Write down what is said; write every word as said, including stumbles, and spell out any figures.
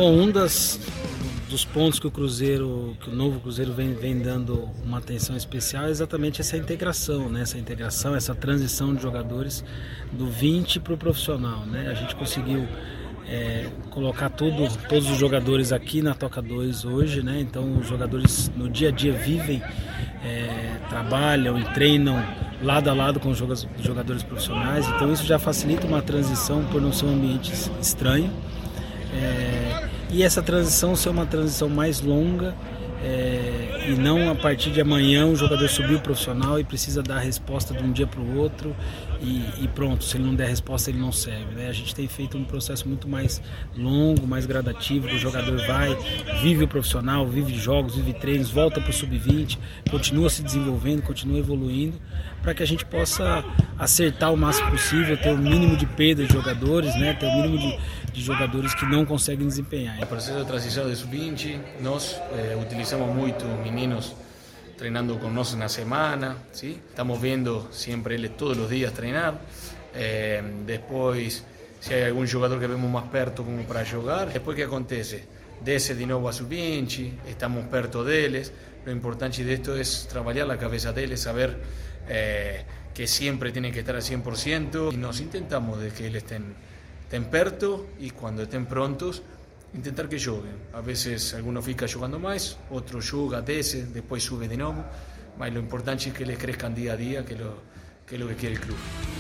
Bom, um das, dos pontos que o Cruzeiro, que o novo Cruzeiro vem, vem dando uma atenção especial é exatamente essa integração, né? Essa integração, essa transição de jogadores do vinte para o profissional, né? A gente conseguiu é, colocar tudo, todos os jogadores aqui na Toca dois hoje, né? Então os jogadores no dia a dia vivem, é, trabalham e treinam lado a lado com os jogadores profissionais, então isso já facilita uma transição por não ser um ambiente estranho. É, e essa transição ser uma transição mais longa, é, e não a partir de amanhã o jogador subiu profissional e precisa dar a resposta de um dia para o outro e, e pronto, se ele não der a resposta ele não serve, né? A gente tem feito um processo muito mais longo, mais gradativo, que o jogador vai, vive o profissional, vive jogos, vive treinos, volta para o sub vinte, continua se desenvolvendo, continua evoluindo, para que a gente possa acertar o máximo possível, ter o mínimo de perda de jogadores, né? Ter o mínimo de, de jogadores que não conseguem desempenhar. No processo de transição de sub vinte, nós eh, utilizamos muito meninos treinando conosco na semana, ¿sí? Estamos vendo sempre eles todos os dias treinar. Eh, depois, se há algum jogador que vemos mais perto como para jogar, depois que acontece? Desce de novo a sub vinte, estamos perto deles. Lo importante disto é trabalhar a cabeça deles, saber eh, que sempre têm que estar al cien por ciento e nós intentamos de que eles estén, estén perto e quando estén prontos intentar que joguem. A vezes alguno fica jogando mais, outro joga, desce, depois sube de novo, mas o importante é que eles cresçam dia a dia, que é o que, que quer o clube.